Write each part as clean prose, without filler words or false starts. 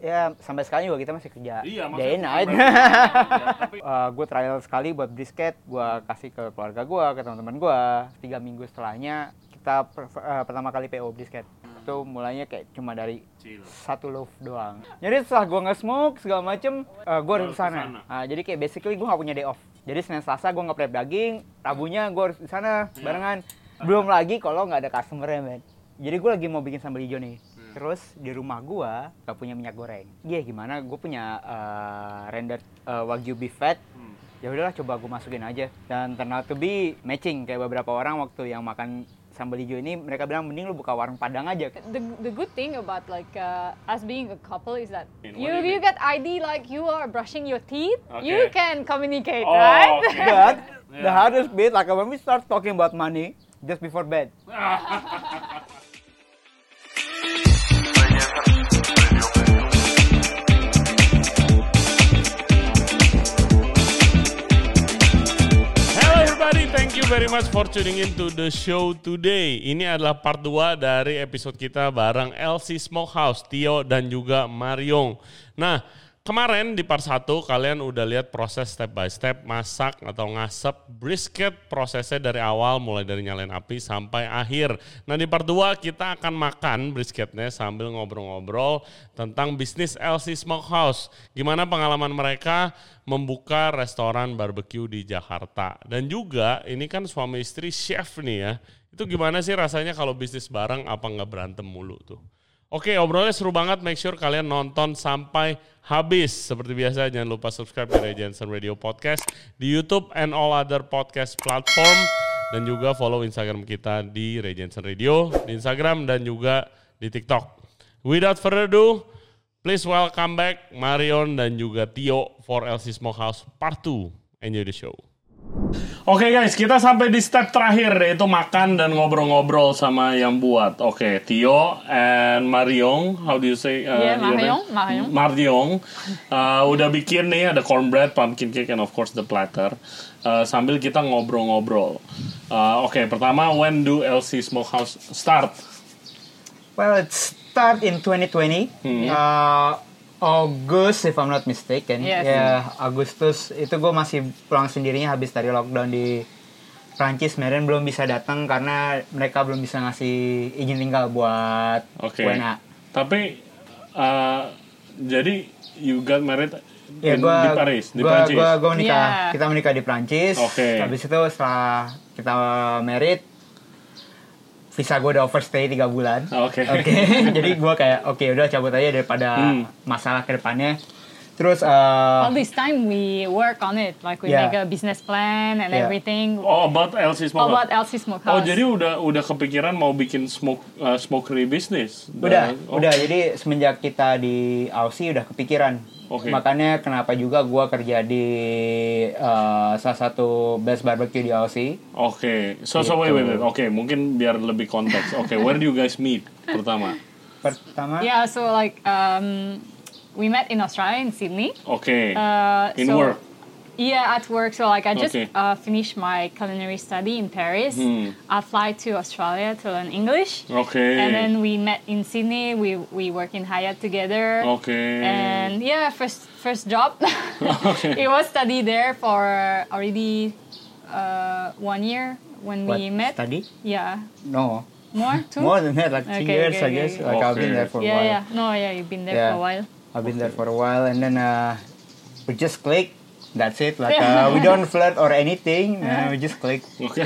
Ya sampai sekarang juga kita masih kerja day and night. Gue trial sekali buat brisket, gue kasih ke keluarga gue, ke teman-teman gue. 3 minggu setelahnya kita pertama kali PO brisket. Itu mulainya kayak cuma dari 1 loaf doang. Jadi setelah gue nge-smoke segala macem, gue harus kesana. Jadi kayak basically gue gak punya day off. Jadi Senin Selasa gue nge-prep daging, Rabunya gue harus di sana barengan. Belum lagi kalau nggak ada customer-nya, men. Jadi gue lagi mau bikin sambal hijau nih. Terus di rumah gue gak punya minyak goreng. Gimana? Gue punya rendered wagyu beef fat. Ya udahlah, coba gue masukin aja. Dan turn out to be matching. Kayak beberapa orang waktu yang makan sambal hijau ini, mereka bilang mending lu buka warung Padang aja. The good thing about like us being a couple is that you get ID like you are brushing your teeth. You can communicate, right? Okay. But the hardest bit, like when we start talking about money just before bed. Thank you very much for tuning in to the show today. Ini adalah part 2 dari episode kita bareng LC Smokehouse, Tio dan juga Mariong. Nah, kemarin di part 1 kalian udah lihat proses step by step masak atau ngasep brisket, prosesnya dari awal mulai dari nyalain api sampai akhir. Nah, di part 2 kita akan makan brisketnya sambil ngobrol-ngobrol tentang bisnis LC Smokehouse. Gimana pengalaman mereka membuka restoran barbecue di Jakarta. Dan juga ini kan suami istri chef nih ya. Itu gimana sih rasanya kalau bisnis bareng, apa nggak berantem mulu tuh. Oke, obrolnya seru banget. Make sure kalian nonton sampai habis. Seperti biasa jangan lupa subscribe di Ray Jensen Radio Podcast di YouTube and all other podcast platform. Dan juga follow Instagram kita di Ray Jensen Radio, di Instagram dan juga di TikTok. Without further ado, please welcome back Marion dan juga Tio for LC Smokehouse Part 2. Enjoy the show. Oke guys, kita sampai di step terakhir, yaitu makan dan ngobrol-ngobrol sama yang buat. Oke, Tio and Marion, how do you say? Marion. Udah bikin nih, ada cornbread, pumpkin cake, and of course the platter. Sambil kita ngobrol-ngobrol. Oke, pertama, when do LC Smokehouse start? Well, it's start in 2020, August if I'm not mistaken. Yes. Ya, Agustus itu gue masih pulang sendirinya habis dari lockdown di Prancis. Meren belum bisa datang karena mereka belum bisa ngasih izin tinggal buat WNA. Tapi jadi you got married di Paris, di Prancis? Gue menikah, kita menikah di Prancis. Habis itu setelah kita married, visa gue udah overstay 3 bulan. Jadi gue kayak udah cabut aja daripada masalah ke depannya. Terus all this time we work on it, like we make a business plan and everything. About LC Smokehouse. About LC Smokehouse. Jadi udah kepikiran mau bikin smokery business. Udah. Jadi semenjak kita di Aussie udah kepikiran. Makanya kenapa juga gue kerja di salah satu best barbecue di Aussie. So wait. Mungkin biar lebih konteks. Where do you guys meet pertama? Yeah, so like we met in Australia, in Sydney. Work? Yeah, at work. So like I just finished my culinary study in Paris. I fly to Australia to learn English. And then we met in Sydney. We work in Hyatt together. And yeah, first job. It was study there for already 1 year when we met. Study? Yeah. No. More? 2? More than that, like 2 years, I guess. Like I've been there for a while. You've been there for a while. I've been there for a while, and then we just click. That's it. Like we don't flirt or anything. We just click.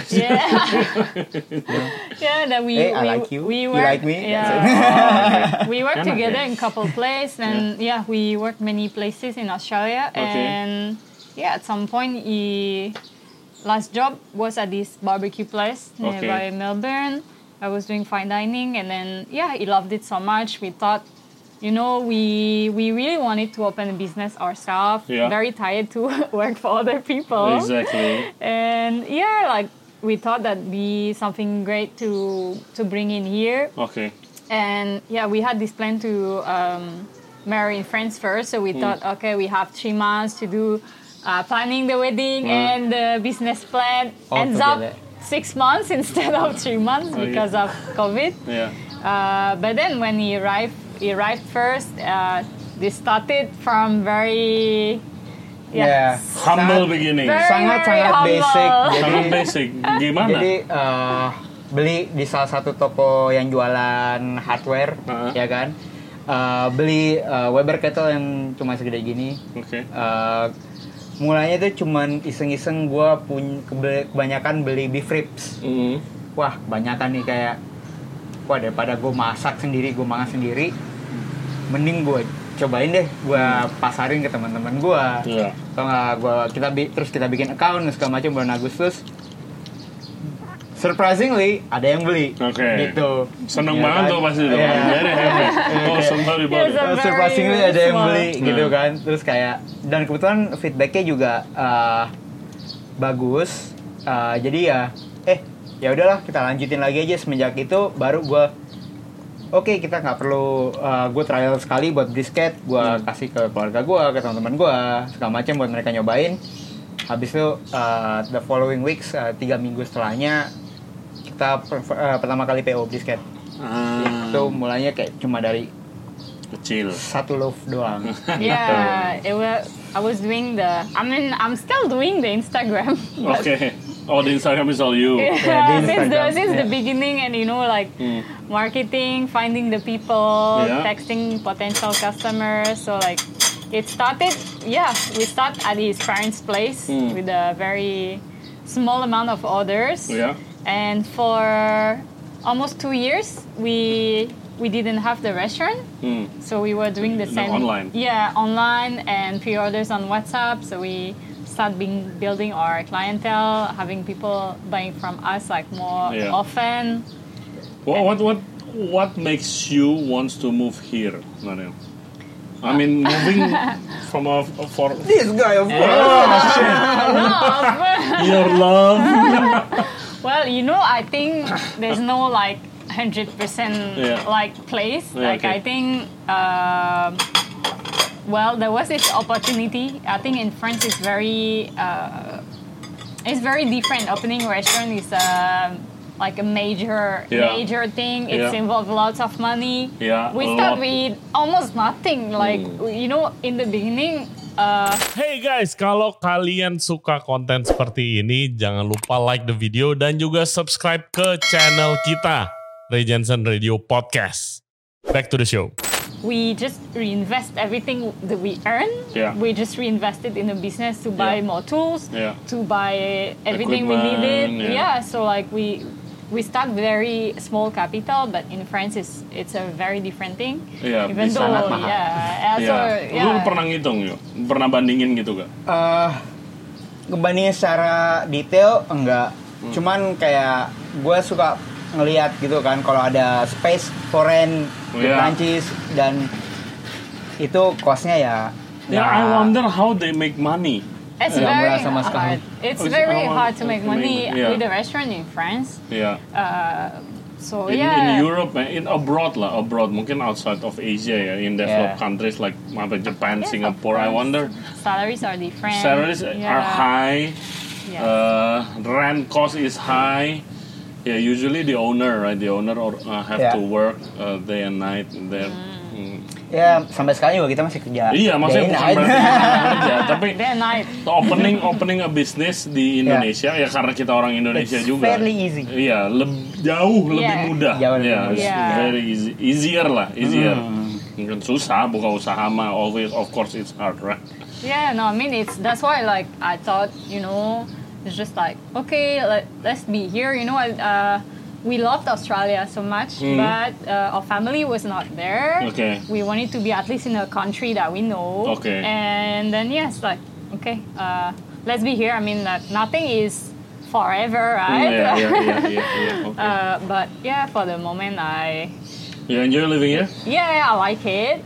That we like you. We you work, like me. We work together in couple places, and we worked many places in Australia. And at some point, last job was at this barbecue place nearby Melbourne. I was doing fine dining, and then he loved it so much. We thought, we really wanted to open a business ourselves. Very tired to work for other people. Exactly. And we thought that'd be something great to bring in here. And we had this plan to marry in France first. So we thought, we have 3 months to do planning the wedding and the business plan. Ends up 6 months instead of 3 months because of COVID. But then when he arrived first, this started from very humble beginning. Sangat humble. basic. Sangat basic. Gimana? Jadi beli di salah satu toko yang jualan hardware, ya kan? Beli Weber kettle yang cuma segede gini. Oke. Mulanya tuh cuman iseng-iseng gue kebanyakan beli beef ribs. Wah, kebanyakan nih kayak, wah daripada gue masak sendiri, gue makan sendiri, mending gue cobain deh, gue pasarin ke teman-teman gue. Iya. Atau nggak terus kita bikin account segala macam bulan Agustus. Surprisingly ada yang beli. Gitu. Seneng banget tuh pasti tuh. Surprisingly ada yang beli gitu kan. Terus kayak, dan kebetulan feedbacknya juga bagus. Jadi ya udahlah kita lanjutin lagi aja. Semenjak itu baru gue oke, kita nggak perlu gue trial sekali buat brisket, gue kasih ke keluarga gue, ke teman-teman gue, segala macam buat mereka nyobain. Habis itu the following weeks 3 minggu setelahnya kita pertama kali PO brisket. Itu mulanya kayak cuma dari kecil, 1 loaf doang. I was doing I'm still doing the Instagram. Okay. Oh, the Instagram is all you. Since the beginning, and marketing, finding the people, texting potential customers. So like, it started. We start at his parents' place with a very small amount of orders. And for almost 2 years, we didn't have the restaurant, so we were doing the same online. Online and pre-orders on WhatsApp. So we start building our clientele, having people buying from us like more often. What makes you want to move here, Marion? I mean, moving from for this guy, of course. Your love. Well, I think there's no like 100% like place. I think there was this opportunity. I think in France it's very different. Opening a restaurant is like a major thing. It's involved lots of money. We start with almost nothing. Like in the beginning. Hey guys, kalau kalian suka konten seperti ini, jangan lupa like the video dan juga subscribe ke channel kita, Ray Jensen Radio Podcast. Back to the show. We just reinvest everything that we earn. We just reinvest it in the business to buy more tools, to buy everything we needed. So like we start very small capital, but in France it's a very different thing. Even though Lu pernah ngitung yuk? Pernah bandingin gitu gak? Ngebandingin secara detail enggak. Cuman kayak gue suka ngelihat gitu kan, kalau ada space foreign di Prancis dan itu costnya I wonder how they make money. It's very hard. It's very hard to make money with a restaurant in France. So in Europe, abroad, mungkin outside of Asia in developed countries like Japan, Singapore. I wonder. Salaries are different. Salaries are high. Rent cost is high. Usually the owner, right? The owner have to work day and night there. Sampai sekarang juga kita masih kerja. Maksudnya bukan berarti kerja, tapi opening a business di Indonesia karena kita orang Indonesia juga. Fairly easy. Jauh lebih mudah. Very easy. Easier. Mungkin susah buka usaha mah, always of course it's hard, right? I mean that's why like I thought, it's just like, okay, let's be here, we loved Australia so much, but our family was not there. We wanted to be at least in a country that we know. And then let's be here. I mean, nothing is forever, right? But for the moment, You enjoy living here? I like it.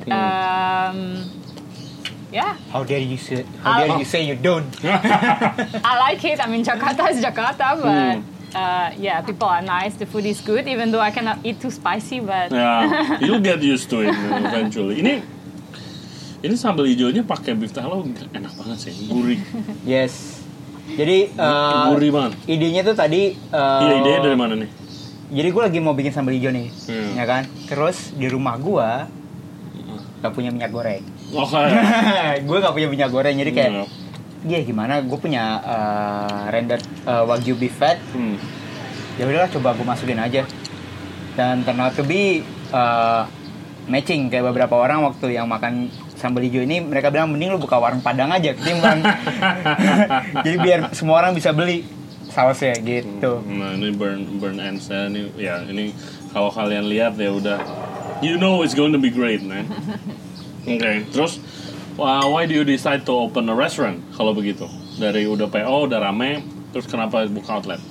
How dare you say you don't? I like it. I mean, Jakarta is Jakarta, but people are nice. The food is good, even though I cannot eat too spicy. But you'll get used to it eventually. Ini sambal hijaunya pakai beef tallow, enak banget sih, gurih. Yes. Jadi gurih banget. Idenya tuh tadi. Idenya dari mana nih? Jadi gue lagi mau bikin sambal hijau nih, ya kan? Terus di rumah gue gak punya minyak goreng. Gue nggak punya minyak goreng, jadi kayak gimana? Gue punya rendered wagyu beef fat. Ya udahlah, coba gue masukin aja. Dan turn out to be matching. Kayak beberapa orang waktu yang makan sambal hijau ini, mereka bilang mending lu buka warung Padang aja ketimbang. Jadi biar semua orang bisa beli sausnya gitu. Nah ini burn ends ya, ini kalau kalian lihat ya udah, you know it's going to be great, man. Okay, terus why do you decide to open a restaurant kalau begitu? Dari udah PO, udah rame, terus kenapa buka outlet?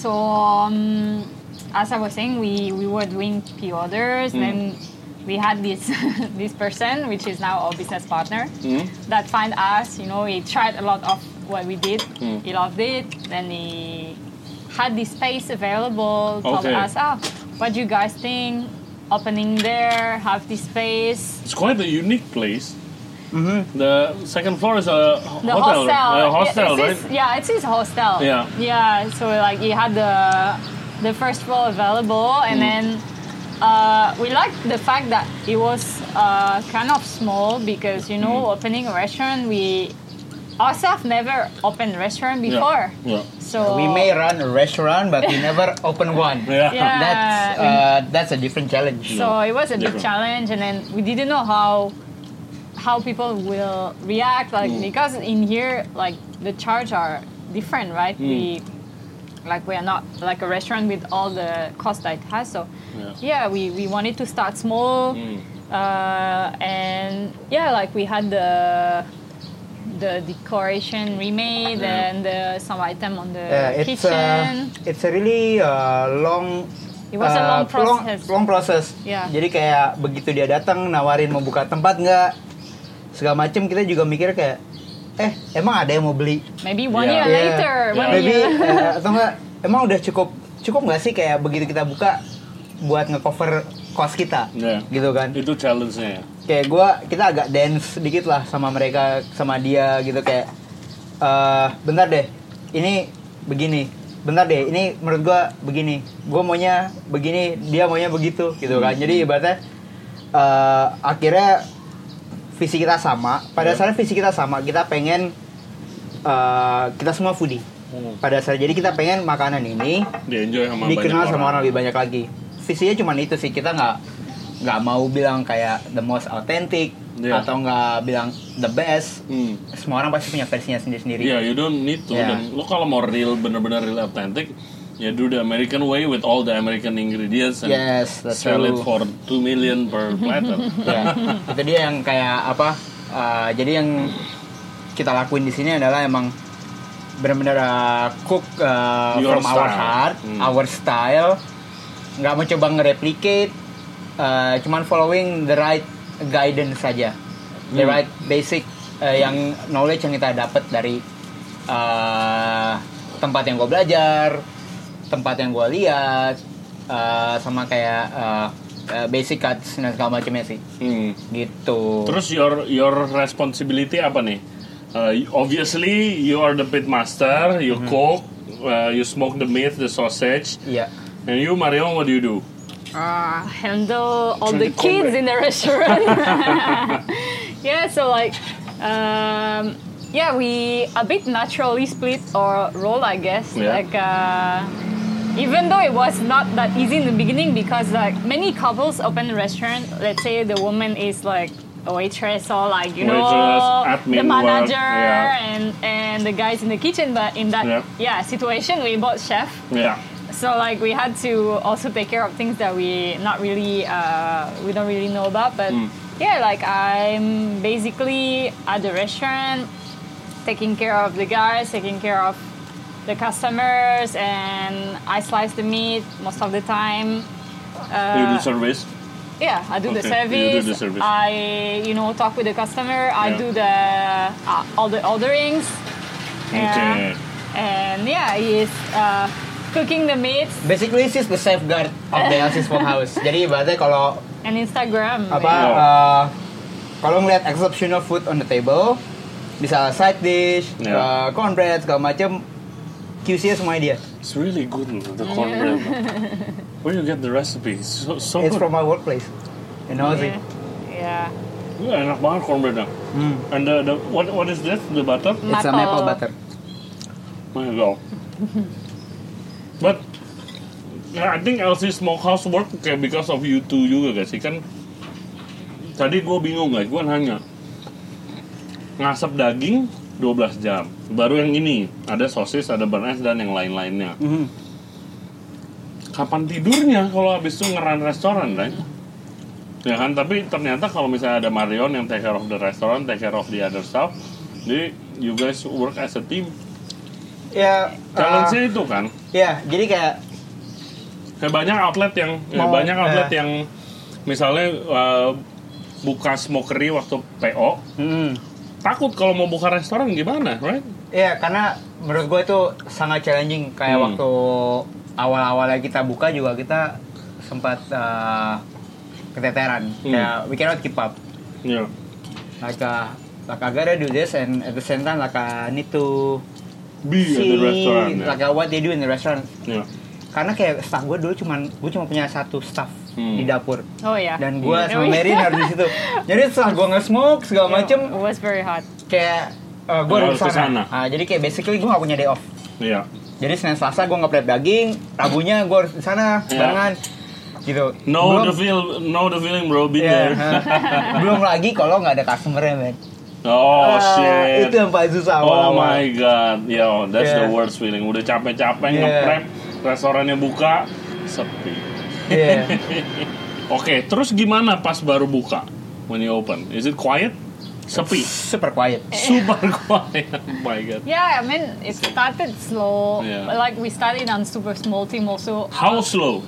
As I was saying, we were doing pre-orders, then we had this person, which is now our business partner, that find us. You know, he tried a lot of what we did. He loved it. Then he had this space available. Told us, what do you guys think? Opening there, have this space. It's quite a unique place. The second floor is a hostel. Right? It's his hostel. Yeah. So like he had the first floor available, and then. We liked the fact that it was kind of small because, you know, opening a restaurant, we ourselves never opened a restaurant before. So we may run a restaurant, but we never open one. That's a different challenge. So it was a big challenge, and then we didn't know how people will react, like because in here, like the charge are different, right? We are not like a restaurant with all the cost that it has. So we wanted to start small, and like we had the decoration remade and some item on the kitchen. It's a really long. It was a long process. Long process. Yeah. Jadi kayak begitu dia datang nawarin mau buka tempat nggak, segala macem kita juga mikir kayak emang ada yang mau beli? Maybe one year later. Atau enggak, emang udah cukup nggak sih kayak begitu kita buka buat nge-cover cost kita, gitu kan? Itu challenge-nya ya? Kayak kita agak dance dikit lah sama mereka, sama dia gitu kayak, bentar deh, ini begini, bentar deh, ini menurut gue begini, gue maunya begini, dia maunya begitu, gitu kan? Jadi ibaratnya akhirnya visi kita sama. Pada dasarnya visi kita sama. Kita pengen kita semua foodie. Pada dasarnya jadi kita pengen makanan ini dikenal sama orang lebih banyak lagi. Visinya cuma itu sih. Kita nggak mau bilang kayak the most authentic atau nggak bilang the best. Semua orang pasti punya versinya sendiri-sendiri. You don't need to. Dan lo kalau mau benar-benar real authentic, ya do the American way with all the American ingredients and sell it for 2 million per platter. Itu dia yang kayak apa? Jadi yang kita lakuin di sini adalah emang benar-benar cook from our heart, our style. Nggak mau coba nge-replicate, cuman following the right guidance saja, the right basic yang knowledge yang kita dapat dari tempat yang gue belajar, tempat yang gue lihat, sama kayak basic cuts dan segala macamnya sih. Gitu. Terus your responsibility apa nih? Obviously you are the pit master, you cook, you smoke the meat, the sausage. And you, Marion, what do you do? Handle all the kids in the restaurant. So like we a bit naturally split our role, I guess. Like even though it was not that easy in the beginning, because like many couples open a restaurant, let's say the woman is like a waitress or like the manager and the guys in the kitchen, but in that situation we both chef. So like we had to also take care of things that we don't really know about, but like I'm basically at the restaurant taking care of the guys, taking care of the customers, and I slice the meat most of the time. You do service? Yeah, I do the service. You do the service. I talk with the customer. I do the all the orderings. And he's cooking the meat. Basically, she's the safeguard of the LC Smokehouse. Jadi ibaratnya kalau and Instagram. Kalau ngeliat exceptional food on the table, bisa side dish, cornbread segala macam, QC-nya semuanya dia. It's really good the cornbread. Where you get the recipe? So it's good. From my workplace in Aussie. Enak banget cornbreadnya. And the what is this? The butter? It's a maple butter. My God. But I think LC Smokehouse work kayak because of you two juga guys sih kan. Tadi gue bingung guys, gue nanya ngasap daging 12 jam. Baru yang ini ada sosis, ada bearnaise dan yang lain-lainnya. Kapan tidurnya kalau habis itu ngeran restoran, right? Ya kan, tapi ternyata kalau misalnya ada Marion yang take care of the restaurant, take care of the other stuff, jadi you guys work as a team. Ya, challenge-nya itu kan? Ya, jadi kayak banyak outlet yang misalnya buka smokery waktu PO. Takut kalau mau buka restoran gimana, right? Iya, karena menurut gue itu sangat challenging. Kayak waktu awal-awalnya kita buka juga kita sempat keteteran. Kayak we cannot keep up. Yeah. Like I gotta do this and at the same time like I need to be at the restaurant. Like what they do in the restaurant. Yeah. Karena kayak staff gue dulu gue cuma punya satu staff di dapur. Oh ya. Dan gue sama Mary harus di situ. Jadi setelah gue nge-smoke segala macem, it was very hot. Kayak gue harus kesana. Jadi kayak basically gue gak punya day off. Iya. Jadi Senin Selasa gue nge-prep daging, Rabunya gue harus di sana barengan. Gitu. Know the feeling bro, be there. Belum lagi kalau nggak ada customer-nya, man. Oh shit. Itu yang paling susah. Oh my god, yo, that's the worst feeling. Udah capek-capek nge-prep, restorannya buka, sepi. Oke, terus gimana pas baru buka? When you open, is it quiet? Sepi. Super quiet. Super quiet. Oh my god. Yeah, I mean it started slow. Yeah. Like we started on super small team also. How slow?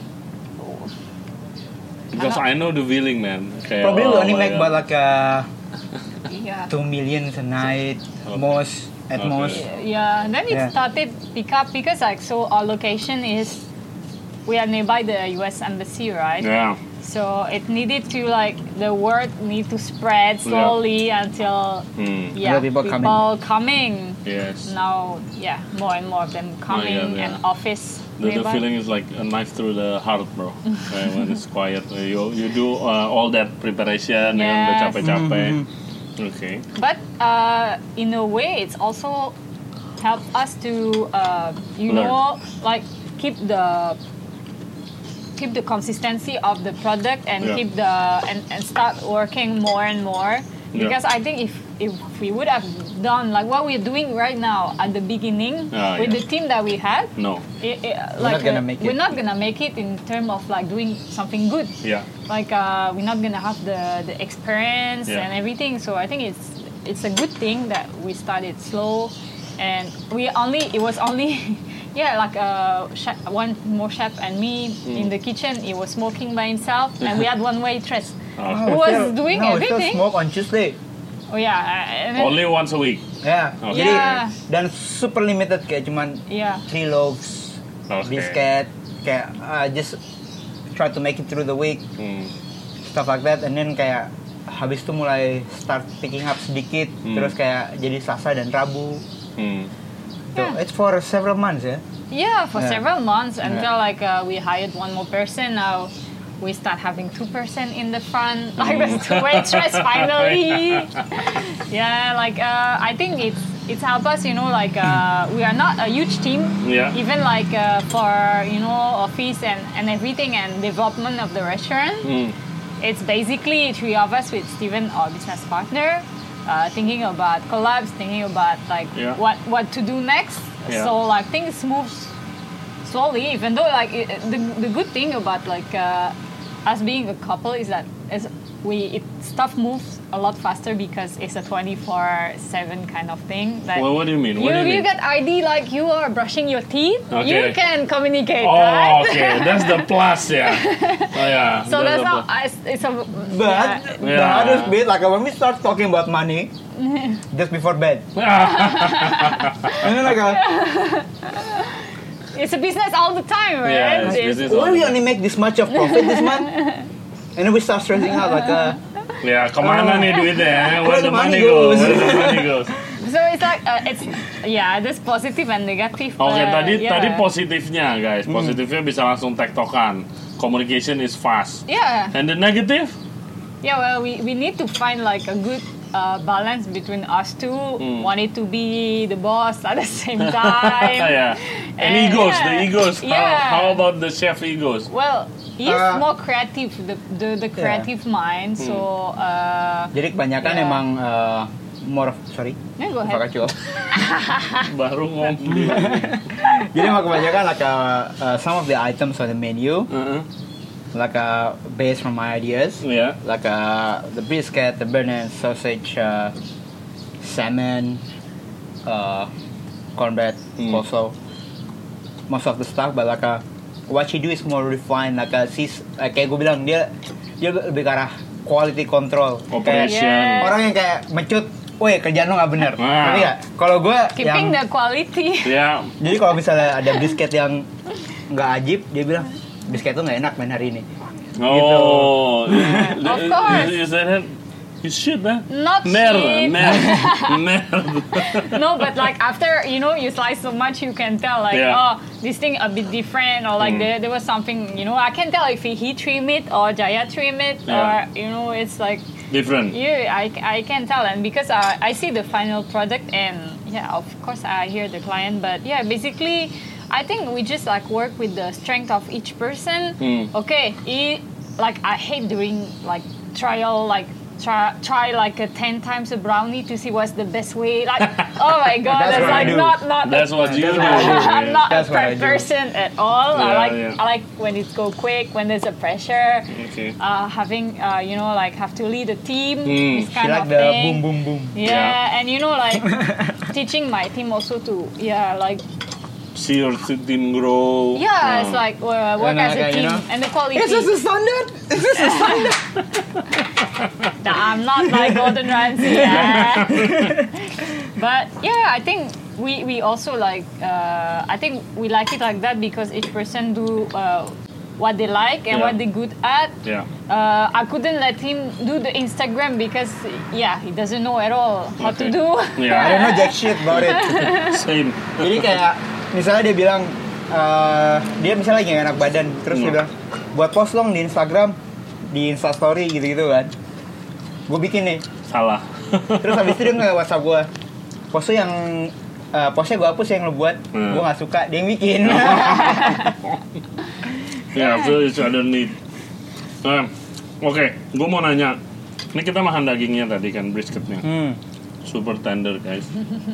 Because I know the feeling, man. Okay, probably we only make about like 2 million a night, most. Yeah, then it started pick up because like so our location is we are nearby the U.S. embassy, right? Yeah. So it needed to like the word need to spread slowly until people coming. Yes. Now more and more of them coming and office. The feeling is like a knife through the heart, bro. When it's quiet, you do all that preparation and udah capek-capek. Okay. But in a way, it's also helped us to know like keep the consistency of the product and keep the and start working more and more. Because I think if we would have done like what we're doing right now at the beginning with the team that we had, we're not gonna make it in terms of like doing something good. Yeah. Like we're not gonna have the experience and everything. So I think it's a good thing that we started slow, and it was only. Like one more chef and me in the kitchen. He was smoking by himself, and we had one waitress who was doing everything. Smoke on Tuesday. Oh yeah. Only once a week. Yeah. Okay. Jadi dan super limited kayak cuman 3 loaves, biscuit, kayak just try to make it through the week, stuff like that, and then kayak habis itu mulai start picking up sedikit, terus kayak jadi Selasa dan Rabu. So it's for several months, for several months until like we hired one more person. Now we start having 2 person in the front, like the waitress finally. I think it's helped us, like we are not a huge team. Even like for office and everything and development of the restaurant. It's basically 3 of us with Steven, our business partner. Thinking about collabs, thinking about like what to do next. So like things move slowly. Even though like the good thing about like us being a couple is that stuff moves a lot faster because it's a 24/7 kind of thing. Like, what do you mean? You get ID like you are brushing your teeth. Okay. You can communicate. Oh, okay, that's the plus, So that's how it's a. But the hardest bit, like when we start talking about money, just before bed, and then like it's a business all the time, right? Yeah, it's business. We only make this much of profit this month. And then we start stressing out like kemana nih duitnya? Where the money goes? So it's like there's positive and negative. Oke, tadi positifnya guys, positifnya bisa langsung tektokan. Communication is fast. Yeah. And the negative? Yeah, well, we need to find like a good balance between us two, wanting to be the boss at the same time. Yeah. And egos, the egos. How about the chef egos? Well, he's more creative, the creative mind. So. Jadi kebanyakan emang more sorry. Yeah, go ahead. Baru ngomong. Jadi emang kebanyakan like some of the items on the menu. Like based from my ideas, like the brisket, the burnt sausage, salmon, cornbread, also most of the stuff. But like what she do is more refined. Like kayak gue bilang dia lebih ke arah quality control. Operation. Orang yang kayak mecut, woi kerjaan lo nggak bener. Tapi ya kalau gue keeping the quality. Yeah. Jadi kalau misalnya ada brisket yang nggak ajib, dia bilang brisket itu nggak enak main hari ini. Oh, gitu. Of course. You said it. You should, man. Not Nerd. No, but like after you slice so much, you can tell like this thing a bit different, or like there was something I can tell if he trim it or Jaya trim it, or it's like different. Yeah, I can tell, and because I see the final product, and of course I hear the client, but basically. I think we just like work with the strength of each person. Okay, I hate doing like trial, like try like 10 times a brownie to see what's the best way. Like, oh my god, that's like not. That's what you do. I'm not a prep person at all. Yeah, I like when it go quick, when there's a pressure. Okay. Having like have to lead a team. This kind like of the thing. boom boom boom. Yeah, and like teaching my team also to like. See your team grow. Yeah, it's like work as a team and the quality. Is this a standard? I'm not like Gordon Ramsay. But I think we also like. I think we like it like that because each person do what they like and what they're good at. Yeah. I couldn't let him do the Instagram because he doesn't know at all how to do. Yeah. I don't know jack shit about it. Same. Jadi kayak misalnya dia bilang dia misalnya lagi gak enak badan, terus dia bilang buat post dong di Instagram, di Instastory gitu-gitu kan. Gue bikin nih. Salah. Terus habis itu dia nge-WhatsApp gue, postnya gue hapus yang lo buat, gue gak suka, dia yang bikin. So each other need. Oke, gue mau nanya. Ini kita makan dagingnya tadi kan, brisketnya. Super tender guys.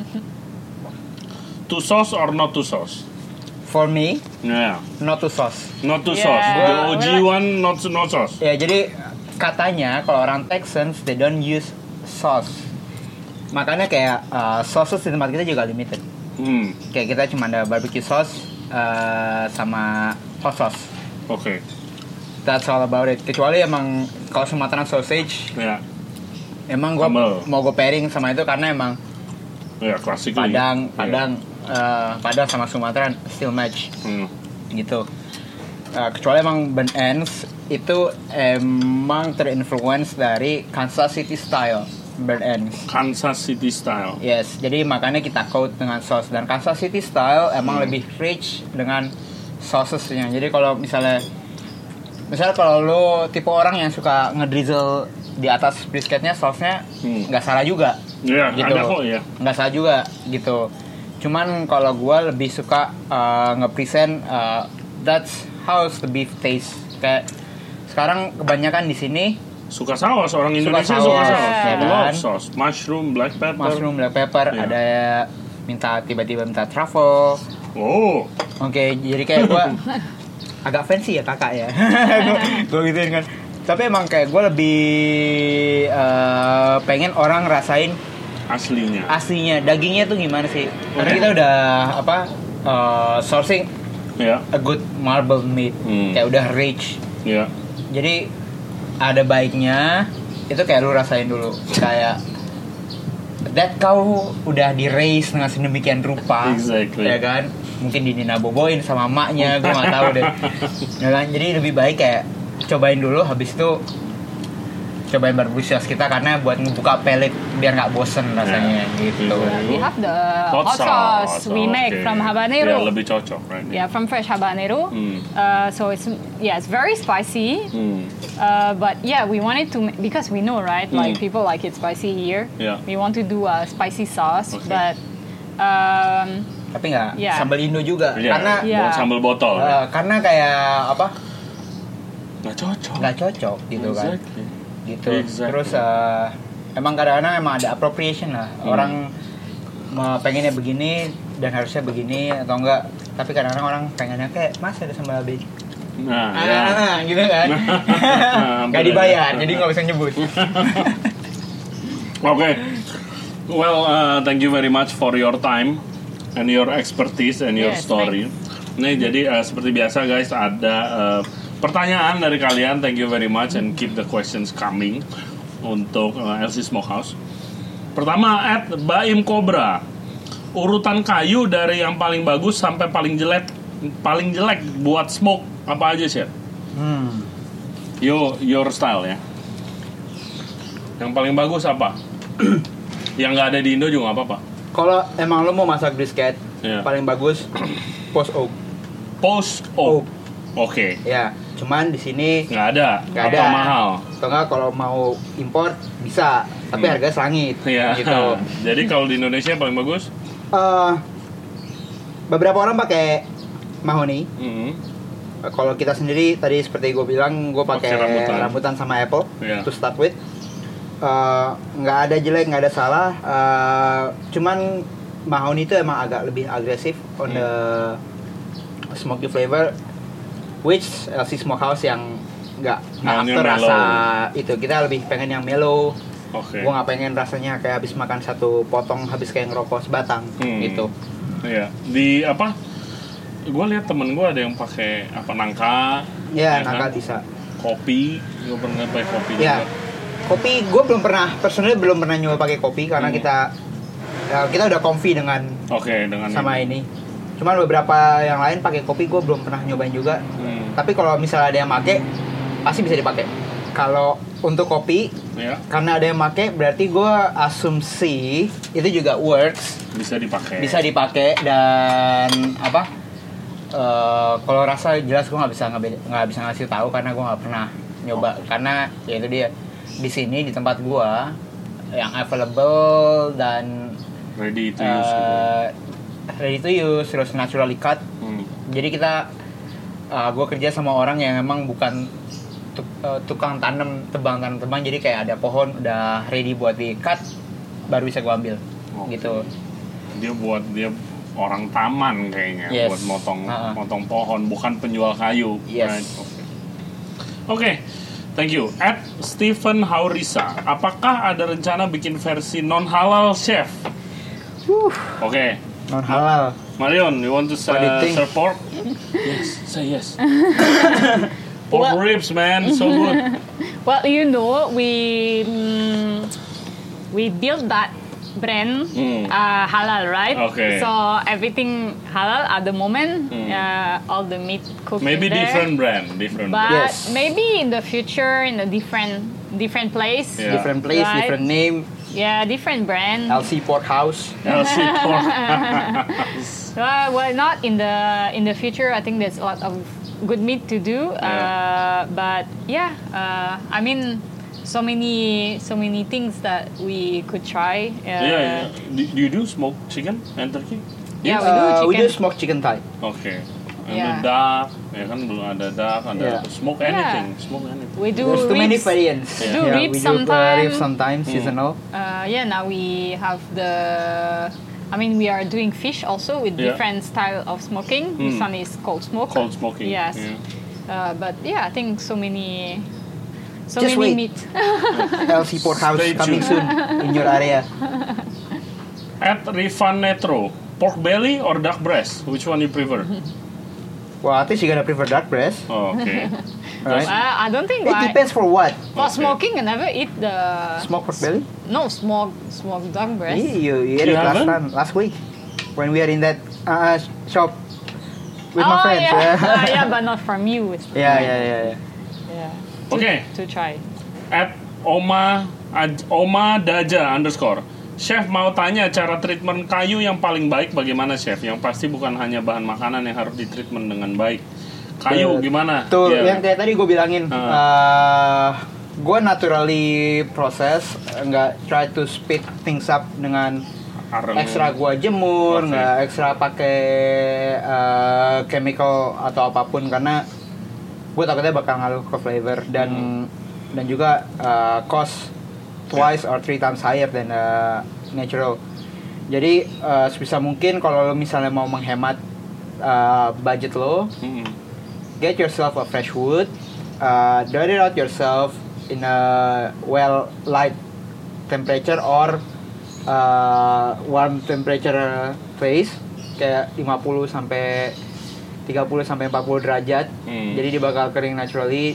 To sauce or not to sauce? For me, not to sauce. Not to sauce. The OG one not sauce. Ya jadi katanya kalau orang Texans they don't use sauce. Makanya kayak sauces di tempat kita juga limited. Kayak kita cuma ada barbecue sauce sama hot sauce. Okay. That's all about it. Kecuali emang kalau Sumatera sausage. Emang gue mau gue pairing sama itu karena emang classically. Padang sama Sumatera still match. Gitu. Kecuali emang burnt ends itu emang terinfluence dari Kansas City style burnt ends. Kansas City style. Yes, jadi makanya kita coat dengan sauce, dan Kansas City style emang lebih rich dengan sausesnya. Jadi kalau misalnya kalau lo tipe orang yang suka ngedrizzle di atas brisketnya sausnya, nggak salah juga. Iya, gitu. Ada kok ya. Nggak salah juga gitu. Cuman kalau gue lebih suka nge-present that's how the beef taste. Kayak sekarang kebanyakan di sini suka saus, orang Indonesia suka saus. Love sauce, mushroom, black pepper. Ada tiba-tiba minta truffle. Oke, jadi kayak gue agak fancy ya kakak ya. Gue gituin kan. Tapi emang kayak gue lebih pengen orang rasain aslinya dagingnya tuh gimana sih. Karena kita udah sourcing a good marbled meat, kayak udah rich. Jadi ada baiknya itu kayak lu rasain dulu, kayak that kau udah di raise dengan sedemikian rupa, ya kan? Mungkin dininaboboin sama maknya, gue nggak tahu deh. Ya kan? Jadi lebih baik kayak cobain dulu, habis itu cobain barbecue sauce kita karena buat ngebuka palate biar nggak bosen rasanya gitu. We have the hot sauce we make from habanero. Yeah, lebih cocok, right? Yeah, from fresh habanero. So it's very spicy. But yeah, we wanted to because we know, right? Like people like it spicy here. Yeah. We want to do a spicy sauce, but tapi nggak sambal Indo juga karena sambal botol. Karena kayak apa? Nggak cocok gitu kan. Gitu. Exactly. Terus emang kadang-kadang emang ada appropriation lah. Orang pengennya begini dan harusnya begini atau enggak. Tapi kadang-kadang orang pengennya kayak mas ada sambal bacon. Gitu kan. Gak dibayar, jadi nggak bisa nyebut. Okay. Well, thank you very much for your time and your expertise and your story. Nih, jadi seperti biasa guys, ada pertanyaan dari kalian. Thank you very much and keep the questions coming untuk LC Smokehouse. Pertama, @Baim Cobra. Urutan kayu dari yang paling bagus sampai paling jelek buat smoke apa aja sih? Your style ya. Yang paling bagus apa? Yang nggak ada di Indo juga nggak apa-apa. Kalau emang lo mau masak brisket, paling bagus post oak. Oke. Ya, cuman di sini nggak ada. Mahal. Atau nggak kalau mau impor bisa, tapi harga selangit. Gitu. Jadi kalau di Indonesia paling bagus? Beberapa orang pakai mahoni. Kalau kita sendiri tadi seperti gue bilang, gue pakai rambutan sama apple to start with. Nggak ada jelek, nggak ada salah. Cuman mahoni itu emang agak lebih agresif on the smoky flavor, which LC Smokehouse yang nggak after rasa itu. Kita lebih pengen yang mellow. Gue nggak pengen rasanya kayak habis makan satu potong, habis kayak ngerokok sebatang gitu. Iya. Di apa? Gue lihat temen gue ada yang pakai nangka. Ya nangka bisa. Kopi, gue pernah pakai kopi juga. Kopi, gue belum pernah nyoba pakai kopi karena kita udah comfy dengan sama ini. Cuman beberapa yang lain pakai kopi gue belum pernah nyobain juga. Tapi kalau misalnya ada yang pakai, pasti bisa dipakai. Kalau untuk kopi, karena ada yang pakai, berarti gue asumsi itu juga works. Bisa dipakai dan apa? Kalau rasa jelas gue nggak bisa ngasih tahu karena gue nggak pernah nyoba. Karena ya itu dia. Di sini di tempat gua yang available dan ready to use terus naturally cut. Jadi kita gua kerja sama orang yang memang bukan tukang tebang jadi kayak ada pohon udah ready buat di cut baru bisa gua ambil. Gitu. Dia orang taman kayaknya buat motong pohon, bukan penjual kayu. Yes. Oke. Thank you. @Stephen Haurisa, apakah ada rencana bikin versi non halal chef? Oke. Non halal. Marion, you want to serve pork? Yes, say yes. Pork ribs, man, so good. Well, you know, we built that brand halal, right? Okay. So everything halal at the moment. All the meat cooked maybe there. different brand. But maybe in the future, in a different place. Yeah. Different place, right? Different name. Yeah, different brand. LC Porkhouse. LC Porkhouse. Well, not in the future. I think there's a lot of good meat to do. But I mean. So many things that we could try. Do you do smoked chicken and turkey? Yeah, we do chicken. We do smoked chicken thigh. Okay. And the duck, kan belum ada duck, ada smoke anything. We do There's too many variants. We do ribs sometimes. We do ribs sometimes, seasonal. Now we have we are doing fish also with different style of smoking. This one is cold smoking. Yes. But I think so many meat. LC Porkhouse coming soon in your area. @Rivanetro, pork belly or duck breast? Which one you prefer? Well, I think you're gonna prefer duck breast. Oh, okay. Right? I don't think. It depends for what. For smoking, I never eat the smoked pork belly. No, smoked duck breast. You ate it last week when we are in that shop with my friends. But not from you. Yeah. Okay. To try. Oma Daja _ Chef mau tanya cara treatment kayu yang paling baik bagaimana Chef? Yang pasti bukan hanya bahan makanan yang harus ditreatment dengan baik. Kayu gimana? Tuh yang kayak tadi gue bilangin, gue naturally proses, nggak try to speed things up dengan ekstra gue jemur, nggak ekstra pakai chemical atau apapun karena gue takutnya bakal ngaruh ke flavor dan juga cost twice or 3 times higher than natural. Jadi sebisa mungkin kalau lo misalnya mau menghemat budget lo, get yourself a fresh wood, dry it out yourself in a well light temperature or warm temperature place kayak 50 sampai 30 sampai 40 derajat. Jadi dia bakal kering naturally.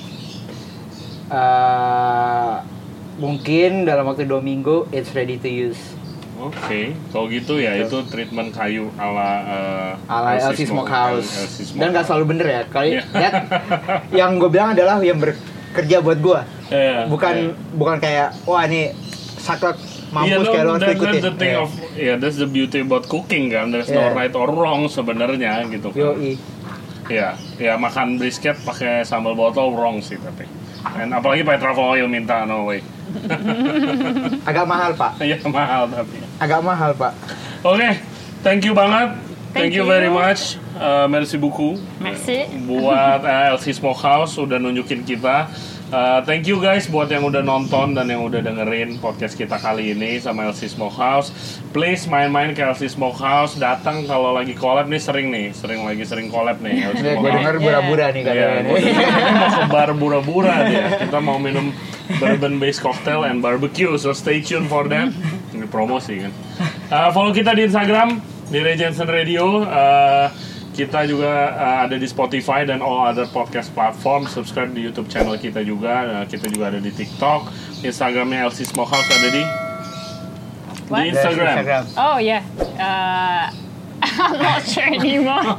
Mungkin dalam waktu 2 minggu it's ready to use. Oke, kalau gitu ya itu treatment kayu ala LC Smokehouse. Dan nggak selalu bener ya. Kali yang gue bilang adalah yang bekerja buat gue. Bukan kayak wah ini saklek mampus kayak lo harus ikutin. That's the beauty about cooking kan. There's no right or wrong sebenarnya gitu kan. Ya makan brisket pakai sambal botol wrong sih tapi. Dan apalagi pakai truffle oil minta no way. Agak mahal pak. Iya mahal tapi. Agak mahal pak. Oke, thank you banget. Thank you very much. Merci beaucoup. Merci. Buat LC Smokehouse udah nunjukin kita. Thank you guys buat yang udah nonton dan yang udah dengerin podcast kita kali ini sama LC Smokehouse. Please main-main ke LC Smokehouse, datang kalau lagi collab nih sering collab nih. Gue denger bura-bura nih katanya. Mau ke bar bura-bura dia. Kita mau minum bourbon based cocktail and barbecue, so stay tuned for that. Ini promosi kan. Follow kita di Instagram di Ray Jensen Radio. Kita juga ada di Spotify dan all other podcast platform. Subscribe di YouTube channel kita juga. Kita juga ada di TikTok. Instagramnya LC Smokehouse ada di Instagram. Oh yeah. I'm not sure anymore.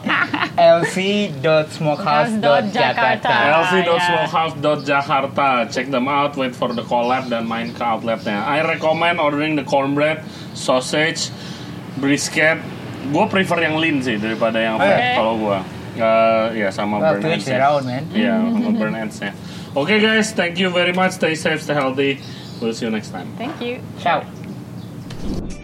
lc.smokehouse.jakarta. lc.smokehouse.jakarta. Check them out. Wait for the collab dan main ke outletnya. I recommend ordering the cornbread, sausage, brisket. Gue prefer yang lean sih daripada yang fat kalau gue. Ya sama burn ends. Ya sama burn ends-nya. Okay guys, thank you very much. Stay safe, stay healthy. We'll see you next time. Thank you. Ciao.